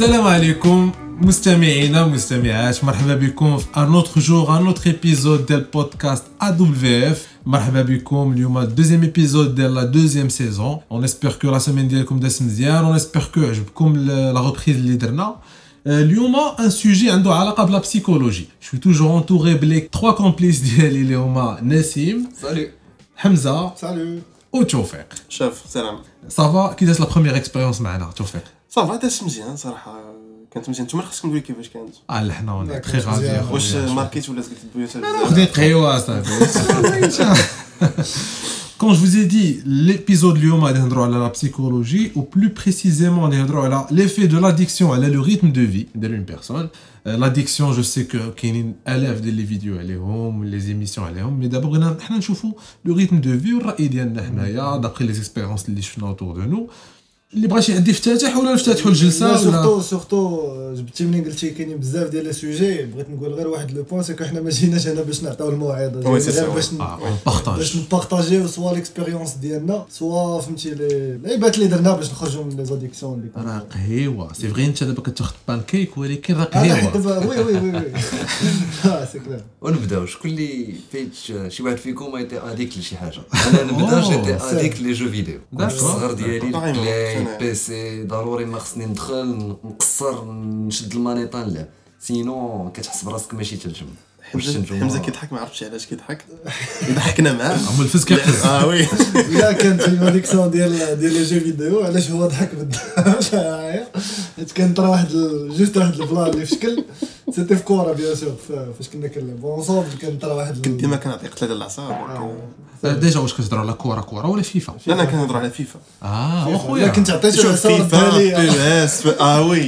السلام عليكم مستمعينا ومستمعات، مرحبا بكم في un autre jour un autre épisode ديال بودكاست AWF. مرحبا بكم اليوم الدوزيام ايبيزود ديال لا دوزيام سيزون. on espère que la semaine ديالكم داز مزيان، on espère que عجبكم لا ريبريز اللي درنا اليوم. ان سوجي عنده علاقه بلا بسيكولوجي. جو توجور انتوري بليك 3 كومبليس ديالي اللي هما نسيم سالو، حمزه سالو وتوفيق. شاف سلام. صافا كي داز لا بروميير اكسبيريونس معنا توفيق؟ صافا داز مزيان صراحه، كانت مزيان. نتوما خاصكم تقولوا كيفاش كانت. حنا تري غادي. واش ماركيت ولا قلت البيوت خديت قهوه صافي. Quand je vous ai dit l'épisode اليوم غادي نهضروا على la psychologie ou plus précisément غادي نهضروا على l'effet de l'addiction على le rythme de vie de une personne. L'addiction je sais que كاينين الاف ديال لي فيديو عليهم لي زيميسيون عليهم، مي دابا بغينا حنا نشوفوا le rythme de vie والراي ديالنا حنايا دابري لي اكسبيريونس اللي شفنا autour de nous. اللي بغى شي حد يفتتح ولا نفتتحوا الجلسه ولا سورتو جبتي منين قلتي كاينين بزاف ديال لي سوجي. بغيت نقول غير واحد لو بوين، سكو حنا ما جيناش هنا باش نعطيو الموعظه، غير باش نبارطاجيو سوا ليكسبيريونس ديالنا سوا فهمتي لي لعيبات اللي درنا باش نخرجوا من لي زاديكسيون اللي راه قهيوه. سي فري انت دابا كتاخذ بانكيك ولكن راه قهيوه. وي سي كلير. ونبداو. شكون اللي فايت شي واحد فيكم ايتي اديك لشي حاجه؟ انا نبدا. جيتي اديك لي جو فيديو. الصغر ديالي بيسي ضروري ما خصني ندخل نقصر نشد المانيطان، لا سينو كتحس براسك ماشي تنجم. حمزه كيضحك، ما عرفتش علاش كيضحك. ضحكنا معاه عمل الفز كيحس. وي لا كانت الاديكسيون ديال لي جو فيديو. علاش هو ضحك بالضبط؟ حيت كانت راه واحد جوست واحد البلان اللي في شكل سيتي في كوره بيان سور، فاش كنا كنلعبوا اونصومبل كانت راه واحد كنت ديما كنعطي قتله ديال الاعصاب. ديجا واش كتهضروا على كوره ولا فيفا؟ انا كنهضر على فيفا. واخويا كنت عطيتو فيفا بيس. وي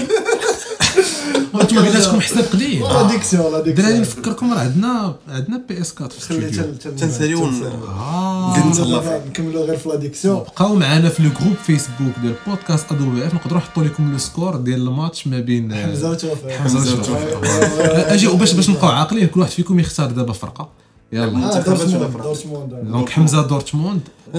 انتم بيناتكم حساب قليل. لاديكسيون دراري نفكركم راه عندنا بي اس 4 في الاستوديو. تنساليو نكملوا غير في لاديكسيون. بقاو معنا في الجروب فيسبوك ديال بودكاست AWF. نقدروا نحطوا لكم لو سكور ديال الماتش ما بين حمزه وتوفيق. اجي باش نبقاو عاقلين. كل واحد فيكم يختار دابا فرقه. يلا دورتموند. دونك حمزه دورتموند،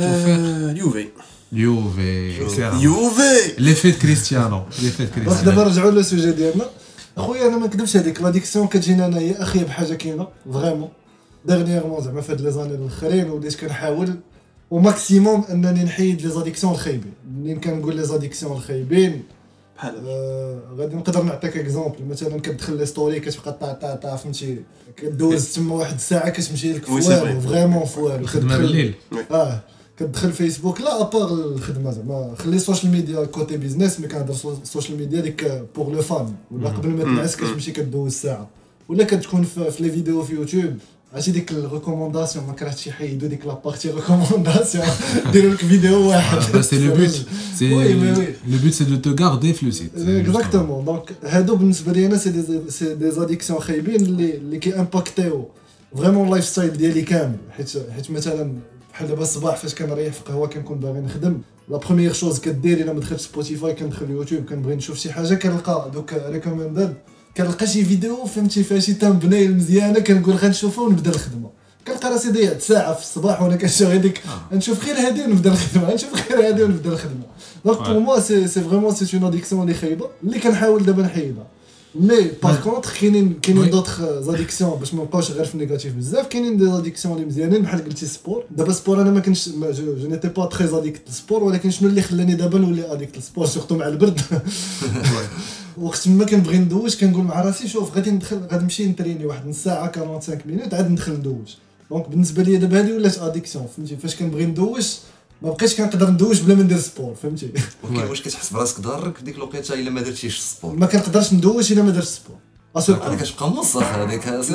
يوفي ليفي كريستيانو. دابا نرجعوا للسوجي ديالنا. خويا انا ما نكذبش، هذيك لاديكسيون كتجينا انايا اخيب حاجه كاينه فريمون ديرنييرمون، زعما في هاد لي زاني الاخرين وليت كنحاول وماكسيموم انني نحيد لي زاديكسيون الخايبين. منين كنقول لي زاديكسيون الخايبين بحال غادي نقدر نعطيك اكزومبل. مثلا كتدخل لي ستوري كتبقى طا فهمتي، كدوز تما واحد الساعه كتمشي لك فوالو فريمون فوالو. خدمه بالليل كتدخل فيسبوك لا ابار الخدمه، زعما خلي السوشيال ميديا كوتي بيزنس، مي كنهضر السوشيال ميديا ديك بور لو فان. ولا قبل ما تنعس كتمشي كدوز ساعه، ولا كتكون في لي فيديو في يوتيوب. عرفتي ديك الريكومونداسيون ما كرهتش يحيدوا ديك لابارتي ريكومونداسيون، ديروا لك فيديو واحد. سي لو بوت، لو بوت سي دو تو غاردي في لو سيت. اكزاكتومون. دونك هادو بالنسبه لي انا سي دي زاديكسيون خايبين اللي كي امباكتيو فريمون اللايف ستايل ديالي كامل. حيت مثلا بحال دابا الصباح فاش كنريح في قهوه كنكون باغي نخدم، لا بروميير شوز كدير الا ما دخلتش سبوتيفاي كندخل يوتيوب كنبغي نشوف شي حاجه، كنلقى دوك ريكومندد، كنلقى شي فيديو فهمتي فيها شي تامبنيل مزيانه، كنقول غنشوفها ونبدا الخدمه. كنلقى راسي ضيعت ساعه في الصباح وانا كنشوف هذيك نشوف غير هذه ونبدا الخدمه، نشوف غير هذه ونبدا الخدمه. دونك بور موا سي فريمون سي اون اديكسيون اللي خايبه اللي كنحاول دابا نحيدها. مي باغ كونطخ كاينين دوطخ زاديكسيون باش ما نبقاوش غير في النيجاتيف بزاف. كاينين دي زاديكسيون اللي مزيانين بحال قلتي سبور. دابا سبور انا ما كنتش جو نيتي با تري اديكت للسبور، ولكن شنو اللي خلاني دابا نولي اديكت للسبور سورتو مع البرد. وقت ما كنبغي ندوش كنقول مع راسي شوف غادي نمشي نتريني واحد نص ساعه 45 مينوت عاد ندخل ندوش. دونك بالنسبه لي دابا هذه ولات اديكسيون فهمتي. فاش كنبغي ندوش ما بقيتش كنقدر ندوش بلا ما ندير سبور فهمتي. واش كتحس براسك ضارك في ديك الوقيته الا ما درتيش السبور؟ ما كنقدرش ندوش الا ما درتش السبور. انا كتبقى موصف هذيك لا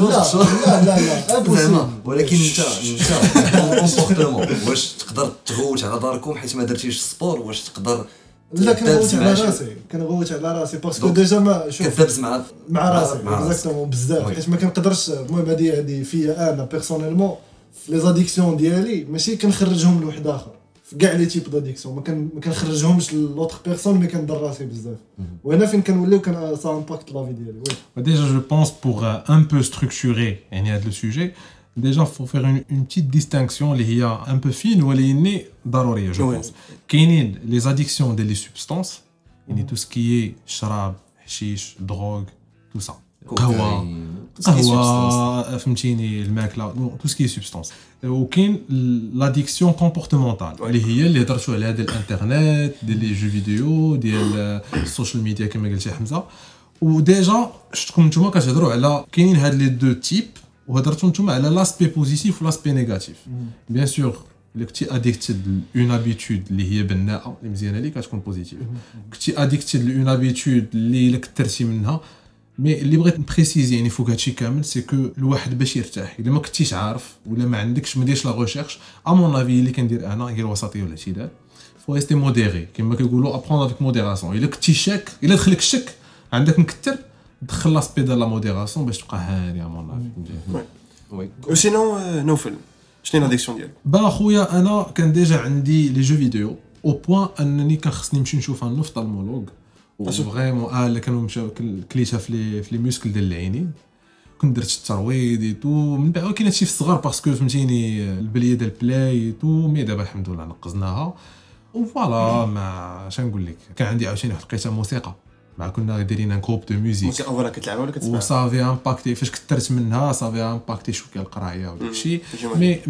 ولكن انت كومبورتمون واش تقدر تغوت على داركم حيت ما درتيش السبور؟ واش تقدر لا كنغوت على راسي باسكو ديجا ما شوف كتدبز مع راسي اكزاكتومون بزاف. حيت ما كنقدرش المهم هذه فيا انا بيرسونيلمون في لي زاديكسيون ديالي ماشي كنخرجهم لواحد اخر في كاع لي تيب داديكسيون، ما كنخرجهمش لوطر بيرسون مي كندر راسي بزاف. وهنا فين كنوليو كان سا امباكت لا في ديالي. Déjà je pense pour un peu structurer يعني le sujet, déjà faut faire une petite distinction اللي هي un peu fine ولكن ضروريه جو pense. كاينين les addictions des substances يعني tout ce qui est شراب حشيش دروغ تو سا قهوه فهمتيني الماكله تو سكي سبستانس وكاين لاديكسيون كومبورتمونتال اللي هضرتوا على هذا الانترنت ديال لي جو فيديو ديال السوشيال ميديا كما قلتي حمزه وديجا شفتكم نتوما كتهضروا على كاينين هاد لي دو تيب وهضرتوا نتوما على لاسبي بوزيتيف ولاسبي نيجاتيف بيان سور الا كنتي اديكتد لون ابيتود اللي هي بناءه اللي مزيانه ليك كتكون بوزيتيف كنتي اديكتد لون ابيتود اللي الا كثرتي منها مي اللي بغيت نبريسيزي يعني فوق هادشي كامل سي كو الواحد باش يرتاح الا ما كنتيش عارف ولا ما عندكش ما ديرش لا ريشيرش ا مون افي اللي كندير انا هي الوسطيه والاعتدال فو ريستي موديري كما كيقولوا ابروندر افيك موديراسيون الا كنتي شاك الا دخلك الشك عندك نكثر دخل لاسبي ديال لا موديراسيون باش تبقى هاني ا مون افي وي وسينو نوفل شنو لاديكسيون ديالك با خويا انا كان ديجا عندي لي جو فيديو او بوين انني كان خصني نمشي نشوف ان اوفطالمولوج فريمون اللي كانوا مشاو كليتها في لي موسكل ديال العينين كنت درت الترويض تو من بعد كاين هادشي في الصغر باسكو فهمتيني البليه ديال بلاي تو مي دابا الحمد لله نقزناها وفوالا ما اش نقول لك كان عندي عاوتاني واحد لقيتها موسيقى مع كنا دايرين ان كروب دو موزيك موسيقى ولا كتلعبها ولا كتسمعها وصافي امباكتي فاش كثرت منها صافي امباكتي شويه القرايه وداكشي مي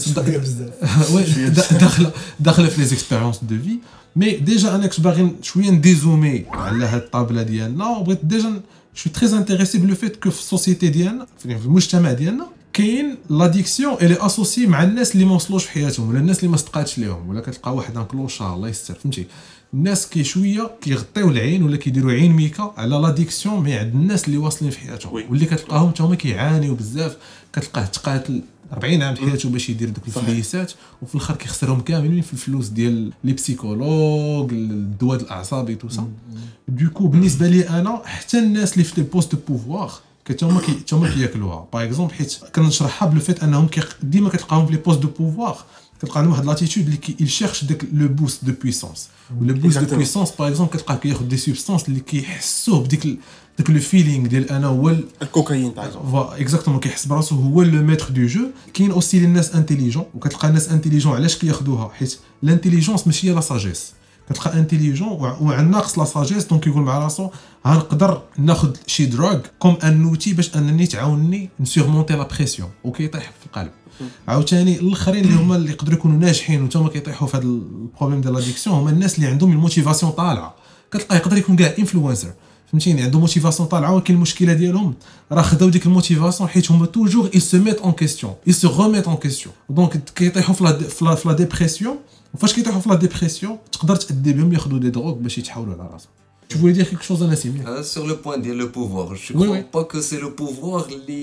داخله في لي زيكسبيريونس دو في مي ديجا انا كنت باغي شويه نديزومي على هاد الطابله ديالنا وبغيت ديجا شو تري انتريسي بلو فيت كو في السوسيتي ديالنا في المجتمع ديالنا كاين لاديكسيون اللي اسوسي مع الناس اللي ما وصلوش في حياتهم ولا الناس اللي ما صدقاتش ليهم ولا كتلقى واحد ان كلوشا الله يستر فهمتي الناس كي شويه كيغطيو العين ولا كيديروا عين ميكا على لاديكسيون مي عند الناس اللي واصلين في حياتهم واللي كتلقاهم حتى هما كيعانيو بزاف كتلقاه تقاتل 40 عام حياته باش يدير داك الفليسات وفي الاخر كيخسرهم كاملين في الفلوس ديال لي بسيكولوج الدواء الاعصابي تو سا دوكو بالنسبه لي انا حتى الناس اللي في لي بوست دو بوفوار كتهما كياكلوها باغ اكزومبل حيت كنشرحها بلو فيت انهم ديما كتلقاهم في لي بوست دو بوفوار كتلقى عندهم واحد لاتيتود اللي يشيرش داك لو بوست دو بويسونس ولا بوست دو بويسونس باغ اكزومبل كتلقاه كياخذ دي سبستانس اللي كيحسوه بديك داك لو فيلينغ ديال انا هو الكوكايين باغ اكزومبل اكزاكتومون كيحس براسو هو لو ميتر دو جو كاين اوسي الناس انتيليجون وكتلقى الناس انتيليجون علاش كياخذوها حيت الانتيليجونس ماشي هي لا ساجيس كتلقى انتيليجون وعناقص لا ساجيس دونك يقول مع راسو غنقدر ناخذ شي دروغ كوم ان اوتي باش انني تعاونني نسورمونتي لا بريسيون وكيطيح في القلب عاوتاني الاخرين اللي هما اللي يقدروا يكونوا ناجحين وتما كيطيحوا في هذا البروبليم ديال لاديكسيون هما الناس اللي عندهم الموتيفاسيون طالعه كتلقى يقدر يكون كاع انفلونسر فهمتيني عنده موتيفاسيون طالعه ولكن المشكله ديالهم راه خداو ديك الموتيفاسيون حيت هما توجور اي سو ميت اون كيسيون اي سو ريميت اون كيسيون دونك كيطيحوا في لا ديبرسيون وفاش كيطيحوا في لا ديبرسيون تقدر تادي بهم ياخذوا دي دروغ باش يتحولوا على راسهم Tu voulais dire quelque chose à Nassim? Sur le point de le pouvoir, je crois pas que c'est le pouvoir,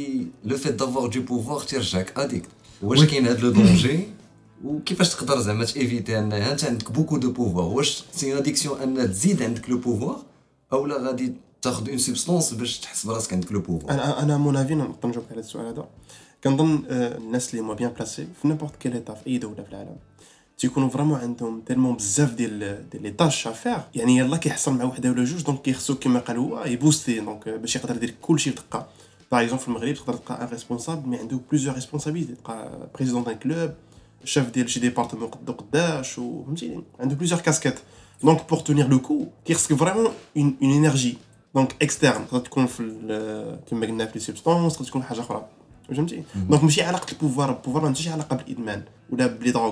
le fait d'avoir du pouvoir تيرجعك addict. واش كاين هذا لو دونجي وكيفاش تقدر زعما تيفيتي انها انت عندك بوكو دو بوفوار واش سي اديكسيون ان تزيد عندك لو بوفوار اولا غادي تاخذ اون سبستانس باش تحس براسك عندك لو بوفوار انا مون افي نقدر نجاوب على السؤال هذا كنظن الناس اللي هما بيان بلاسي في نيمبورط كيل ايطا في اي دوله في العالم تيكونوا فريمون عندهم تيلمون بزاف ديال لي طاش افير يعني يلاه كيحصل مع وحده ولا جوج دونك كيخصو كما قال هو يبوستي دونك باش يقدر يدير كلشي بدقه باغ اكزومبل في المغرب تقدر تلقى ان ريسبونسابل مي عنده بليزيور ريسبونسابيلتي تلقى بريزيدون دان كلوب شاف ديال شي ديبارتمون قداش وفهمتيني عنده بليزيور كاسكيت دونك بور تونير لو كو كيخصك فريمون اون انرجي دونك اكسترن تقدر تكون في كما قلنا في لي سبستانس تقدر تكون حاجه اخرى فهمتي دونك ماشي علاقه البوفوار ما عندهاش علاقه بالادمان ولا بلي دروغ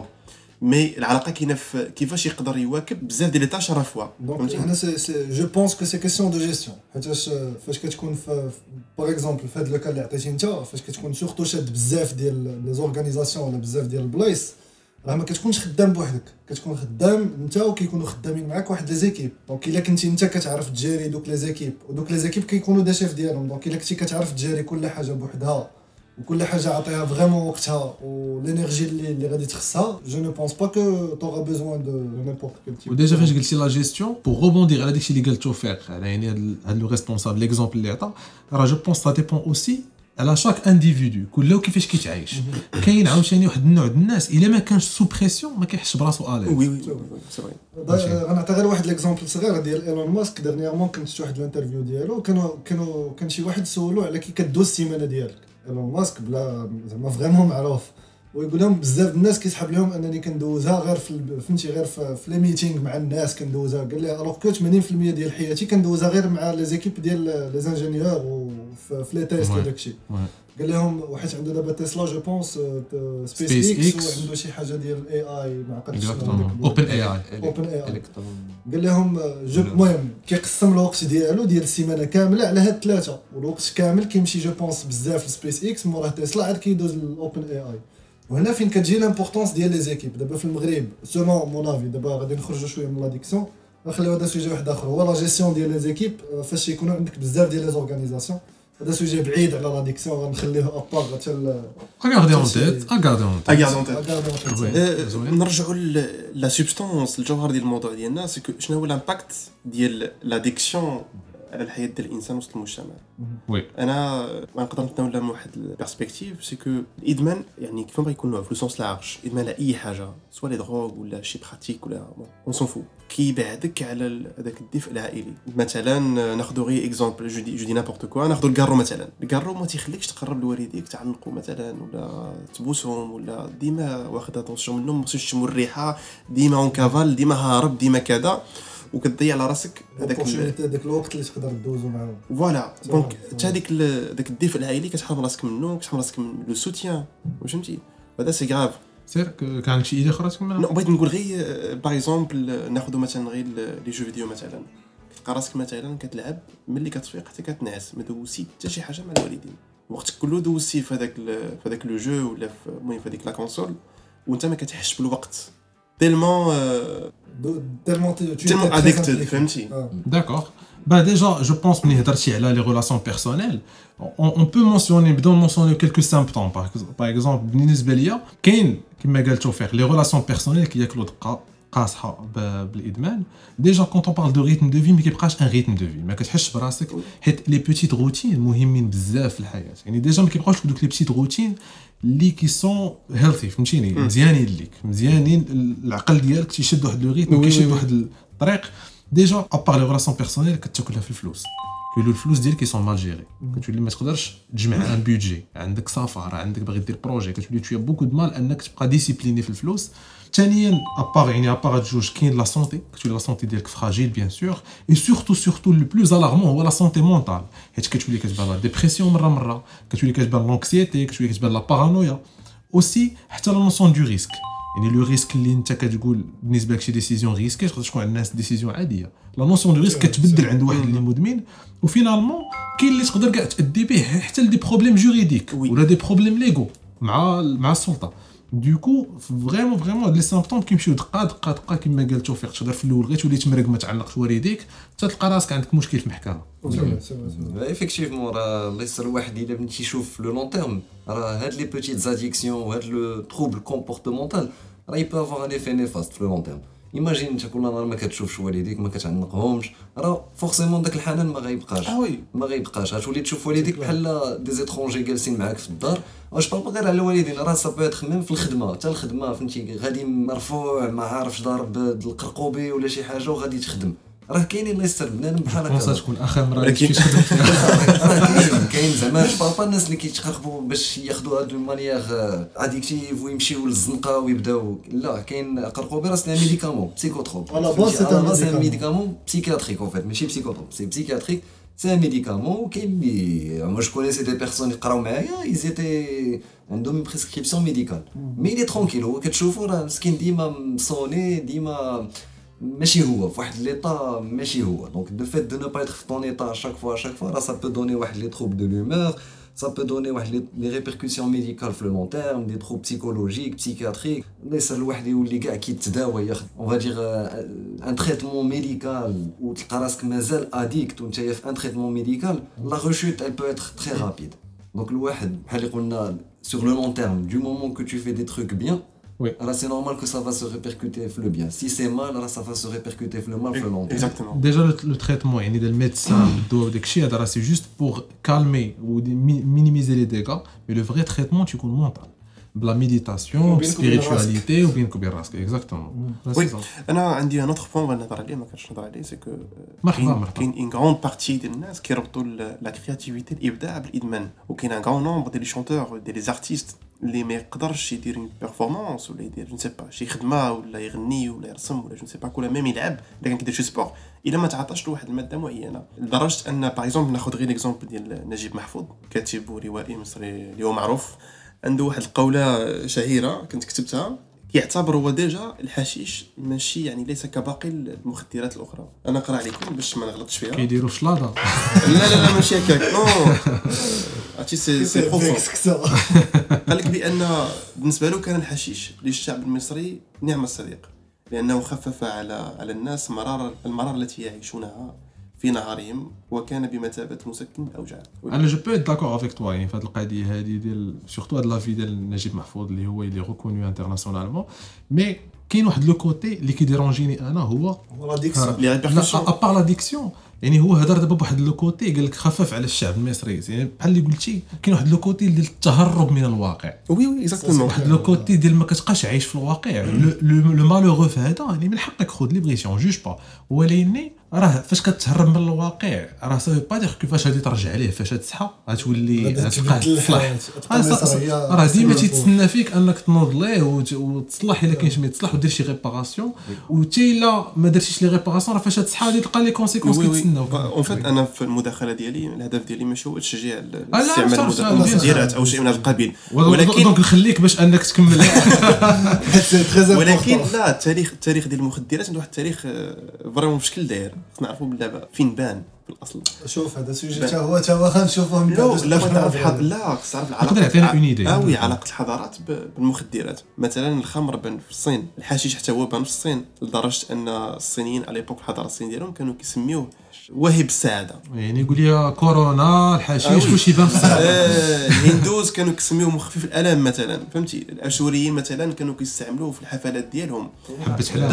مي العلاقه كاينه في كيفاش يقدر يواكب بزاف ديال لي طاش على فوا دونك انا جو بونس كو سي كيسيون دو جيستيون حيتاش فاش كتكون باغ اكزومبل في هذا لو كان اللي عطيتي انت فاش كتكون سورتو شاد بزاف ديال لي زورغانيزاسيون ولا بزاف ديال البلايص راه ما كتكونش خدام بوحدك كتكون خدام انت وكيكونوا خدامين معاك واحد لي زيكيب دونك الا كنتي انت كتعرف تجاري دوك لي زيكيب ودوك لي زيكيب كيكونوا دي شيف ديالهم دونك الا كنتي كتعرف تجاري كل حاجه بوحدها وكل حاجه عطيها فريمون وقتها والانرجي اللي غادي تخصها جو نو بونس با كو تورا بيزوان دو نيمبورط كيل تيب وديجا فاش قلتي لا جيستيون بور روبوندير على داكشي اللي قال توفيق على يعني هذا لو ريسبونسابل ليكزومبل اللي عطا راه جو بونس سا ديبون اوسي على شاك انديفيدو كله كيفاش كيتعايش كاين عاوتاني واحد النوع ديال الناس الا ما كانش سو بريسيون ما كيحسش براسو اليز وي سي فري غنعطي غير واحد ليكزومبل صغير ديال ايلون ماسك ديرنييرمون كنت شفت واحد الانترفيو ديالو كان شي واحد سولو على كي كدوز السيمانه ديالك ايلون ماسك بلا زعما فريمون معروف ويقول لهم بزاف الناس كيسحب لهم انني كندوزها غير فهمتي غير في لي ميتينغ مع الناس كندوزها. قال لي الوغ كو 80% ديال حياتي كندوزها غير مع لي زيكيب ديال لي انجينيور وفي لي تيست وداكشي. قال لهم وحيت عنده دابا تسلا جو بونس سبيس اكس وعنده شي حاجه ديال اي اي ما عقلتش اوبن اي قال لهم المهم كيقسم الوقت ديالو ديال السيمانه كامله على هاد ثلاثه والوقت كامل كيمشي جو بونس بزاف لسبيس اكس موراه تسلا عاد كيدوز للاوبن اي اي. وهنا فين كتجي لامبورطونس ديال لي زيكيب. دابا في المغرب سومون مون افي دابا غادي نخرجوا شويه من لاديكسيون نخليو هذا سوجي واحد اخر هو لا جيستيون ديال لي زيكيب. فاش يكونوا عندك بزاف ديال لي زورغانيزاسيون هذا سوجي بعيد على لاديكسيون غنخليه ابار حتى اغاردي اون تيت نرجعوا لا سبستانس الجوهر ديال الموضوع ديالنا سي شنو هو الامباكت ديال لاديكسيون على الحياه ديال الانسان وسط المجتمع. وي انا ما نقدر نتناول من واحد البيرسبكتيف سي كو الادمان يعني كيف ما يكون في لوسونس لارج ادمان على اي حاجه سواء لي دروغ ولا شي براتيك ولا اون سون فو كيبعدك على هذاك الدفء العائلي. مثلا ناخذ غير اكزامبل جو دي نابورت كوا ناخذ الكارو مثلا. الكارو ما تيخليكش تقرب لوالديك تعلقوا مثلا ولا تبوسهم ولا ديما واخد اتونسيون منهم ما خصكش تشموا الريحه ديما اون كافال ديما هارب ديما كذا وكتضيع على راسك هذاك الوقت اللي تقدر تدوزو معاهم. فوالا دونك حتى داك الدفء العائلي كتحرم راسك منه كتحرم راسك من لو سوتيان واش فهمتي. هذا سي غراف. سير كان عندك شي ايدي اخرى تكمل؟ بغيت نقول غير باغ اكزومبل ناخذ مثلا غير لي جو فيديو مثلا كتلقى راسك مثلا كتلعب ملي كتفيق حتى كتنعس ما دوزتي حتى شي حاجه مع الوالدين وقت كله دوزتي في هذاك لو جو ولا المهم في هذيك لا كونسول وانت ما كتحسش بالوقت تellement addicted فهمتي. D'accord. Bah déjà, je pense ملي هضرتي على les relations personnelles, on peut mentionner بدون mentionner quelques symptômes par exemple بالنسبه ليا كاين كما قال توفيق les relations personnelles كياكلوا دقه قاصحه بالادمان. ديجا كونط اون بارل دو ريتم دو في ما كيبقاش ان ريتم دو في ما كتحسش براسك حيت لي بوتيت روتين مهمين بزاف في الحياه. يعني ديجا ما كيبقاوش دوك لي بوتيت روتين اللي كي سون هيلثي فهمتيني مزيانين ليك مزيانين العقل ديالك تيشد واحد لو ريتم كيشد واحد الطريق. ديجا ابار لي ريلاسيون بيرسونيل كتاكلها في الفلوس كيقولوا الفلوس ديالك كيسون مال جيري كتولي ما تقدرش تجمع ان بودجي عندك سفر عندك باغي دير بروجي كتولي تشويه بوكو دو مال انك تبقى ديسيبليني في الفلوس. ثانيا ابار يعني ابار جوج كاين لا سونتي كتولي لا سونتي ديالك فراجيل بيان سور اي سورتو لو بلوز الارمون هو لا سونتي مونطال حيت كتولي كتبان لا ديبرسيون مره كتولي كتبان لونكسيتي كتولي كتبان لا بارانويا اوسي حتى لا نوسيون دو ريسك. يعني لو ريسك اللي انت كتقول بالنسبه لك شي ديسيزيون ريسكي تقدر تكون عند الناس ديسيزيون عاديه. لا نوسيون دو ريسك كتبدل عند واحد اللي مدمن وفينالمون كاين اللي تقدر كاع تادي به حتى لدي بروبليم جوريديك ولا دي بروبليم ليغو مع السلطه. دوكو فريمون لي سيمبتوم كيمشيو دقه كما قال توفيق تقدر في الاول غير تولي تمرق ما تعلقش والديك حتى تلقى راسك عندك مشكل في المحكمه. ايفيكتيفمون راه الله يسر الواحد الا بغيتي تشوف لو لون تيرم راه هاد لي بوتيت زاديكسيون وهاد لو تروبل كومبورتمونتال راه يبا افوار ان ايفي نيفاست في لو لون تيرم. ايماجين انت كل نهار ما كتشوفش والديك ما كتعنقهمش راه فورسيمون داك الحنان ما غيبقاش غتولي تشوف والديك بحال دي زيترونجي جالسين معاك في الدار. واش بابا غير على الوالدين راه صافي تخمم في الخدمه حتى الخدمه فهمتي غادي مرفوع ما عارفش ضارب القرقوبي ولا شي حاجه وغادي تخدم راه كاينين الله يستر بنادم بحال هكا. فرصه تكون اخر مره كيفاش تخدم فيها كاين زعما بابا الناس اللي كيتقربوا باش ياخذوا هاد المانيير اديكتيف ويمشيو للزنقه ويبداو لا كاين قرقوبي راه سي ميديكامون بسيكوتروب على باز سي ميديكامون بسيكياتريك اون فيت ماشي بسيكوتروب سي بسيكياتريك سي ميديكامون. كاين لي مو جو كونيسي دي بيرسون يقراو معايا ايزيتي عندهم بريسكريبسيون ميديكال مي لي ترونكيل هو كتشوفوا راه مسكين ديما مصوني ديما ماشي هو في واحد ليطا ماشي هو. دونك دو فيت دو نو با اتر في طون ايطا شاك فوا راه سا بو دوني واحد لي تروب دو لومور ça peut donner des répercussions médicales sur le long terme, des troubles psychologiques, psychiatriques. ليس الواحد يولي كاع كيتداوى ياخذ on va dire un traitement médical ou تلقى راسك مازال addict وانت في un traitement médical, la rechute elle peut être très rapide. Donc الواحد بحال اللي قلنا sur le long terme du moment que tu fais des trucs bien oui. Alors c'est normal que ça va se répercuter sur le bien. Si c'est mal, alors ça va se répercuter sur le mal sur le long terme. Exactement. Déjà le traitement, يعني le médecin doit داكشي هذا c'est juste pour calmer ou minimiser les dégâts, mais le vrai traitement tu connais mental. بلا méditation, spiritualité ou bien كوبين راسك. Exactement. Oui. انا عندي un autre point بغيت نهضر عليه ما كنتش نهضر عليه سي كو مرحبا كاين ان غراند بارتي ديال الناس كيربطوا لا كرياتيفيتي الابداع بالادمان وكاين ان غران نومبر ديال لي شونتور ديال لي ارتيست اللي ما يقدرش يدير اون بيرفورمانس ولا يدير جو نسي با شي خدمه ولا يغني ولا يرسم ولا جو نسي با ولا ميم يلعب الا كان كيدير شي سبور الا ما تعطاش له واحد الماده معينه لدرجه ان باغ اكزومبل ناخذ غير ليكزومبل ديال نجيب محفوظ كاتب وروائي مصري اللي هو معروف عنده واحد القوله شهيره كنت كتبتها يعتبر هو ديجا الحشيش ماشي يعني ليس كباقي المخدرات الاخرى. انا اقرا عليكم باش ما نغلطش فيها. كيديروا شلاضه. لا ماشي هكاك نو عرفتي سي بروفون. قال لك بان بالنسبه له كان الحشيش للشعب المصري نعم الصديق لانه خفف على الناس المرار التي يعيشونها في نهارهم وكان بمثابه مسكن الاوجاع. انا جو بو داكور افيك توا يعني في هذه القضيه هذه ديال سورتو هاد لافي ديال نجيب محفوظ اللي هو اللي ريكونو انترناسيونالمون مي كاين واحد لو كوتي اللي كيديرونجيني انا هو لا ديكسيون لي ريبيركسيون ابار لا ديكسيون يعني هو هضر دابا بواحد لو كوتي قال لك خفف على الشعب المصري يعني بحال اللي قلتي كاين واحد لو كوتي ديال التهرب من الواقع وي اكزاكتومون واحد لو كوتي ديال ما كتبقاش عايش في الواقع لو مالوغو في هذا يعني من حقك خذ ليبريسيون جوج با ولكن راه فاش كتهرب من الواقع راه سا با دير كيفاش غادي ترجع ليه فاش تصحى غتولي تبقى تصلح راه ديما تيتسنى فيك انك تنوض ليه وتصلح الا كاين شي ما يتصلح ودير شي ريباراسيون وتي الا ما درتيش لي ريباراسيون راه فاش تصحى غادي تلقى لي كونسيكونس كيتسناوك. اون فيت انا في المداخله ديالي الهدف ديالي ماشي هو تشجيع استعمال المخدرات او شيء من القبيل ولكن دونك نخليك باش انك تكمل ولكن لا التاريخ ديال المخدرات عنده واحد التاريخ فريمون بشكل داير نعرفوا بالله فين بان في الاصل. شوف هذا سوجي حتى هو غنشوفوه من بعد لا تعرف تعرف العلاقه علاقه الحضارات بالمخدرات. مثلا الخمر بان في الصين الحشيش حتى هو بان في الصين لدرجه ان الصينيين على ايبوك الحضاره الصينيه ديالهم كانوا كيسميوه واهب السعاده يعني يقول لي كورونا الحشيش كلشي بان في السعاده. الهندوز كانوا كيسميوه مخفف الالم مثلا فهمتي. الاشوريين مثلا كانوا كيستعملوه في الحفلات ديالهم. حبه حلال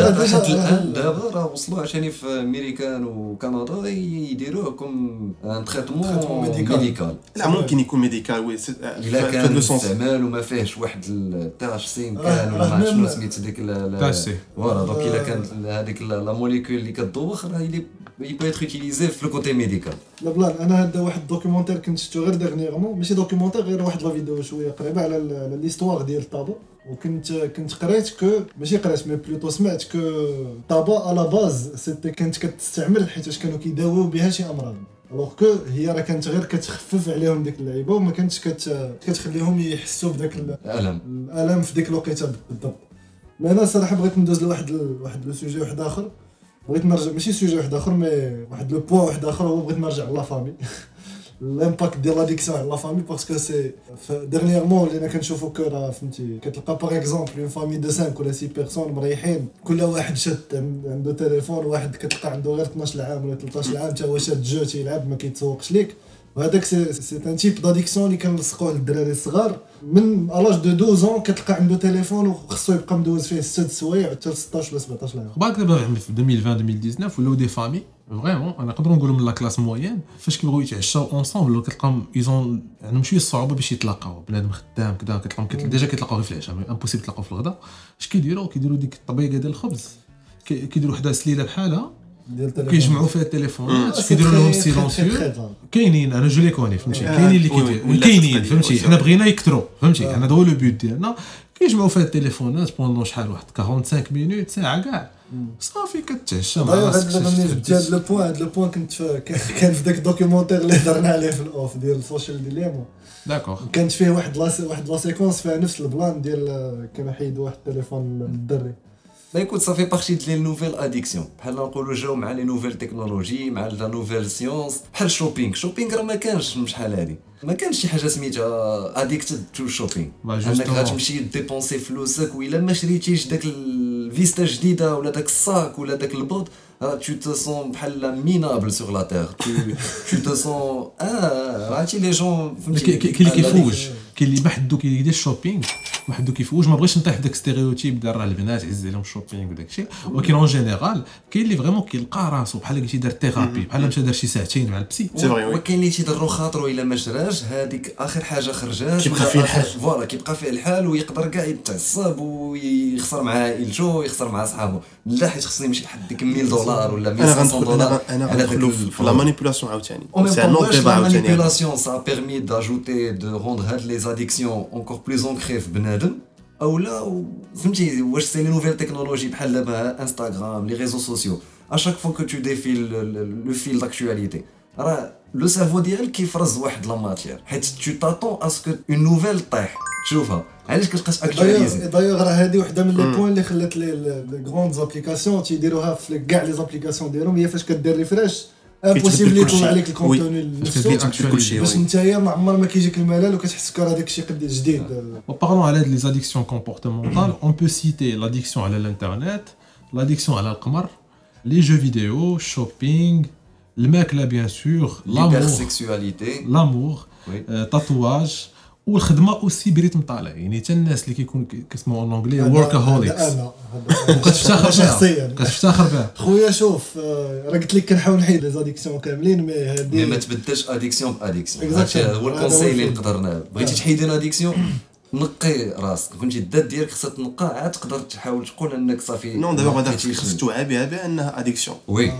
دابا راه وصلوا عشان في امريكان وكندا يديروه كوم ان تريتمون ميديكال. لا ممكن يكون ميديكال وي الا كان استعمال وما فيهش واحد التاش سين كان ولا ما شنو سميت ديك فوالا دونك الا كانت هذيك لا موليكول اللي كتدوخ راه il peut être utilisé في le côté médical. لا بلان انا هذا واحد الدوكيومونتير كنت شفتو غير ديرنييرمون ماشي دوكيومونتير غير واحد لا فيديو شويه قريبه على ليستوار ديال الطابا وكنت قريت كو ماشي قريت مي بلوتو سمعت كو طابا على باز سيتي كانت كتستعمل حيت كانوا كيداويو بها شي امراض الوغ كو هي راه كانت غير كتخفف عليهم ديك اللعيبه وما كانتش كتخليهم يحسوا بداك الالم في ديك الوقيته بالضبط. مي انا صراحه بغيت ندوز لواحد لو سوجي واحد اخر بغيت نرجع ماشي سوجي واحد اخر مي واحد لو بوين واحد اخر هو بغيت نرجع لا فامي الامباكت ديال لاديكسيون على لا فامي باسكو سي ديرنييرمون اللي انا كنشوفو كو راه فهمتي كتلقى باغ اكزومبل اون فامي دو 5 ولا 6 بيرسون مريحين كل واحد شاد عنده تليفون واحد كتلقى عنده غير 12 عام ولا 13 عام حتى هو شاد جو تيلعب ما كيتسوقش ليك وهذاك سي ان تيب داديكسيون اللي كنلصقوه للدراري الصغار من الاج دو 12 كتلقى عنده تليفون وخصو يبقى مدوز فيه 6 سوايع حتى 16 ولا 17 عام. بعد دابا في 2020 2019 ولاو دي فامي فريمون انا نقدروا نقولوا من لا كلاس موين فاش كيبغيو يتعشاو اونصومبل كتلقاهم ايزون عندهم شويه الصعوبه باش يتلاقاو بنادم خدام كذا كتلقاهم ديجا كيتلاقاو غير في العشاء امبوسيبل تلاقاو في الغداء. اش كيديروا ديك الطبيقه ديال الخبز كيديروا وحده سليله بحالها كيجمعوا فيها التليفونات كيديروا لهم سيلونسيو كاينين انا جو لي كوني فهمتي كاينين اللي كاينين فهمتي حنا بغينا يكثروا فهمتي حنا هو لو بوت ديالنا كيجمعوا فيها التليفونات بوندون شحال واحد 45 مينوت ساعه كاع صافي كتعشى مع راسك. هذا لو بوين كان في داك الدوكيومونتير اللي هضرنا عليه في الاوف ديال السوشيال ديليما داكور كانت فيه واحد لا سيكونس فيها نفس البلان ديال كانوا حيدوا واحد التليفون للدري. با يكون صافي بارتي ديال لي نوفيل اديكسيون بحال نقولوا جاو مع لي نوفيل تكنولوجي مع لا نوفيل سيونس بحال شوبينغ راه ما كانش شحال هادي ما كانش شي حاجه سميتها اديكتد تو شوبينغ انك غتمشي ديبونسي فلوسك وإلا ما شريتيش داك الفيستا جديده ولا داك الصاك ولا داك البوط tu te sens بحال minable sur la terre tu te sens عرفتي لي جون كاين اللي كيفوج كاين اللي بحدو كيدير الشوبينغ واحد كيفوش ما بغيتش نطيح داك ستيريوتيب ديال راه البنات عز عليهم الشوبينغ وداك الشيء ولكن اون جينيرال كاين اللي فريمون كيلقى راسو بحال قلتي دار ثيرابي بحال مشى دار شي ساعتين مع البسي وكاين اللي تيضرو خاطرو الا ما شراش هذيك اخر حاجه خرجات كيبقى فيه الحال فوالا كيبقى فيه الحال ويقدر كاع يتعصب ويخسر مع عائلته ويخسر مع اصحابه لا حيت خصني نمشي لحد ديك $1000 ولا $1500 انا غندخلوا في لا مانيبيولاسيون عاوتاني سي ان اوت ديبا عاوتاني مانيبيولاسيون سا بيرمي داجوتي دو روندر هاد لي زاديكسيون اونكور بلوس انكري في بنادم او لا فهمتي واش سي لي نوفيل تكنولوجي بحال دابا انستغرام لي ريزو سوسيو اشاك فوا كو تو ديفيل لو فيل داكtualité راه لو سيرفو ديالك كيفرز واحد لا ماتير حيت تو تاتون اسكو اون نوفيل طيح تشوفها علاش كتبقاش اكtualiser دايوغ راه هذه وحده من لي بوين اللي خلات لي غروند زابليكاسيون تيديروها في كاع لي زابليكاسيون ديالهم هي فاش كدير ريفريش امبوسيبل يطلع عليك الكونتوني باش نتايا ما عمر ما كيجيك الملل وكتحس هذاك الشيء قد جديد. وبارلون على هاد لي زاديكسيون كومبورتمونطال اون بو سيتي لاديكسيون على الانترنت لاديكسيون على القمر لي جو فيديو شوبينغ الماكله بيان سور لامور تاتواج والخدمه اوسي بريتم طالع يعني حتى الناس اللي كيكون كيسموا اون انجلي وركاهوليكس كتفتخر بها خويا شوف راه قلت لك كنحاول نحيد لي زاديكسيون كاملين مي هادي ما تبدلش اديكسيون باديكسيون هذا هو الكونساي اللي نقدر بغيتي تحيدي الاديكسيون نقي راسك فهمتي الذات ديالك خصها تنقى عاد تقدر تحاول تقول انك صافي نو دابا غادي توعى بها بانها اديكسيون وي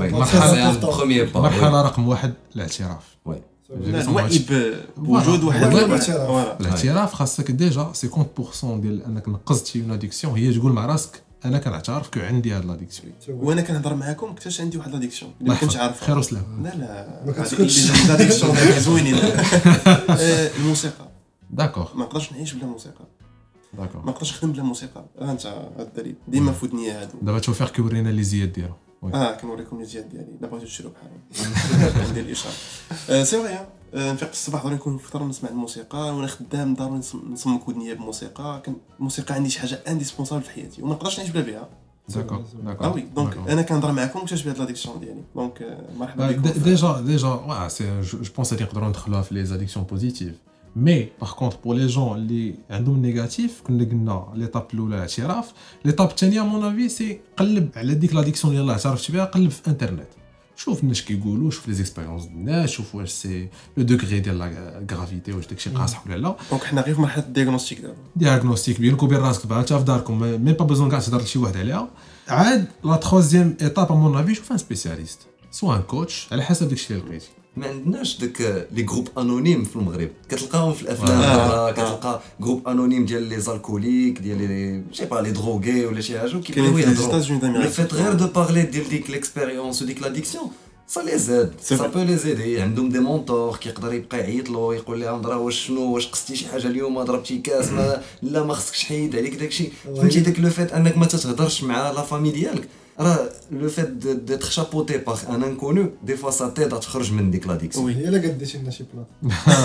مرحله رقم 1 الاعتراف وي الوعي بوجود واحد الاعتراف خاصك ديجا 50% ديال انك نقزتي اون اديكسيون هي تقول مع راسك انا كنعترف كو عندي هاد لاديكسيون وانا كنهضر معاكم اكتشفت عندي واحد لاديكسيون اللي ما كنتش عارف خير وسلام لا ما كتكونش لاديكسيون زوينين الموسيقى داكور ما نقدرش نعيش بلا موسيقى داكور ما نقدرش نخدم بلا موسيقى انت هاد الدليل ديما في ودني هادو دابا توفيق كيورينا لي زياد ديالو كنوريكم لي زياد ديالي لا بغيتو تشرو بحالهم ندير الاشاره سي فري نفيق الصباح ضروري نكون فطر نسمع الموسيقى وانا خدام ضروري نصمك ودنيا بموسيقى الموسيقى عندي شي حاجه انديسبونسابل في حياتي وما نقدرش نعيش بلا بها داكور داكور وي دونك انا كنهضر معكم اكتشفت بهاد لاديكسيون ديالي دونك مرحبا بكم ديجا سي جو بونس هادي نقدروا ندخلوها في لي زاديكسيون بوزيتيف مي باغ كونطخ بور لي جون اللي عندهم نيجاتيف كنا قلنا ليطاب الاولى اعتراف ليطاب الثانيه مون افي سي قلب على ديك لاديكسيون اللي اعترفت بها قلب في انترنت شوف الناس كيقولوا شوف لي زيكسبيريونس ديال الناس شوف واش سي لو دوغري ديال لا غرافيتي واش داكشي قاصح ولا لا دونك حنا غير في مرحله الدياغنوستيك دابا دياغنوستيك بينك وبين راسك بقى انت في داركم مي با بوزون كاع تهضر لشي واحد عليها عاد لا تروزيام ايطاب مون افي شوف ان سبيسياليست سوا ان كوتش على حسب داكشي اللي لقيتي ما عندناش داك لي جروب انونيم في المغرب كتلقاهم في الافلام كتلقى جروب انونيم ديال لي زالكوليك ديال لي جي با لي دروغي ولا شي حاجه كيبغيو يهضروا لو فيت غير دو بارلي ديال ديك ليكسبيريونس وديك لاديكسيون سا لي زاد سا بو لي زيدي عندهم دي مونتور كيقدر يبقى يعيط له يقول لهم راه واش قصتي شي حاجه اليوم ضربتي كاس لا ما خصكش حيد عليك داكشي فهمتي داك لو فيت انك ما تتهضرش مع لا فامي ديالك راه لو فيت ديتر شابوتي باغ ان انكونو دي فوا سا تيد تخرج من ديك لاديكسيون وي الا قديتي لنا شي بلاصه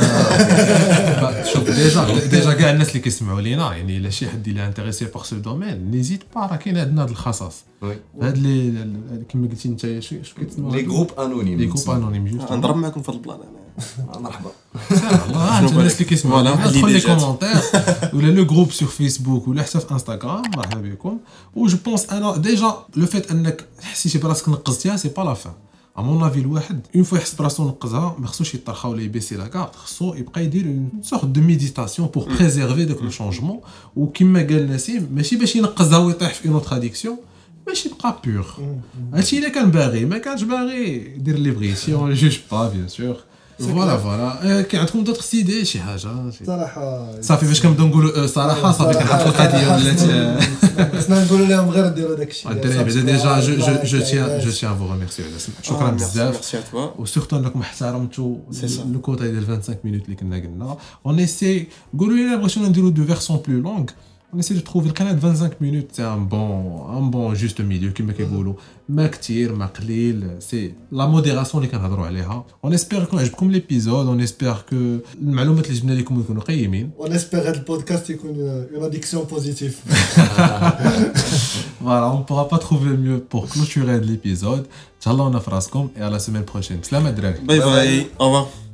شوف ديجا كاع الناس اللي كيسمعوا لينا يعني الا شي حد اللي انتريسي باغ سو دومين نيزيت با راه كاين عندنا هاد الخصاص هاد اللي كما قلتي انت شو كيتسموا لي جروب انونيم جوست نضرب معكم في البلان انا مرحبا والله انت الناس اللي كيسمعوا دخل لي كومونتير ولا لو جروب سور فيسبوك ولا حتى في انستغرام مرحبا بكم و جو بونس انا ديجا لو فيت انك حسيتي براسك نقزتيها سي با لا فان ا مون افي الواحد اون فوا يحس براسو نقزها ما خصوش يطرخا ولا يبيسي لا كارت خصو يبقى يدير اون سورت دو ميديتاسيون بور بريزيرفي داك لو شونجمون وكما قال نسيم ماشي باش ينقزها ويطيح في اون اوتر اديكسيون باش يبقى بيور هادشي الا كان باغي ما كانش باغي دير اللي بغيتي اون جوج با بيان سور فوالا كاين عندكم دوطخ سيدي شي حاجه صراحه صافي فاش كنبداو نقولوا صراحه صافي كنحط القضيه ولات خصنا نقولوا لهم غير ديروا داكشي الدراري ديجا جو تيان فو ريميرسي على السمع شكرا بزاف وسورتو انكم احترمتوا لو كوتا ديال 25 مينوت اللي كنا قلنا اون ايسي قولوا لنا بغيتو نديروا دو فيرسون بلو لونغ on essaie de trouver القناه 25 minutes c'est un bon juste milieu كما كيقولوا ما كثير ما قليل سي لا موديراسيون اللي كنهضروا عليها on espère يكون عجبكم ليبيزود on espère que المعلومات اللي جبنا لكم يكونوا قيمين on espère هذا البودكاست يكون une addiction positive voilà on pourra pas trouver mieux pour clôturer l'épisode تهلاونا في راسكم et à la semaine prochaine سلام الدراري باي باي au revoir